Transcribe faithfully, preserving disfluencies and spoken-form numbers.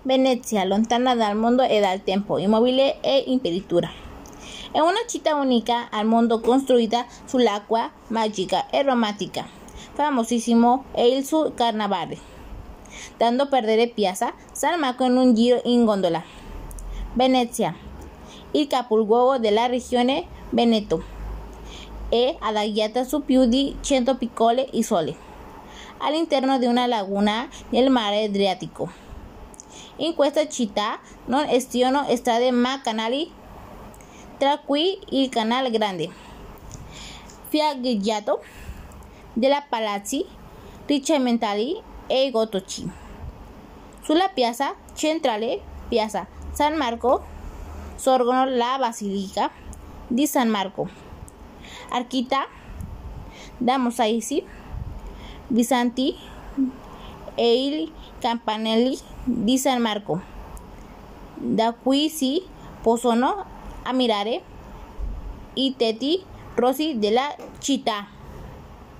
Venezia, lontana dal mondo e dal tempo, immobile e imperitura. È una città unica al mondo costruita sull'acqua, magica e romantica. Famosissimo è il suo carnevale, dando perdere Piazza San Marco in un giro in gondola. Venezia, il capoluogo della regione Veneto, è adagiata su più di cento piccole isole, all'interno di una laguna nel mare Adriatico. In questa città non esistono strade ma canali, tra cui il Canale Grande, fiancheggiato da palazzi rinascimentali e gotici. Sulla piazza centrale, Piazza San Marco, sorgono la Basilica di San Marco, arricchita da mosaici bizantini e i campanelli di San Marco, da cui si possono ammirare i tetti rossi della città.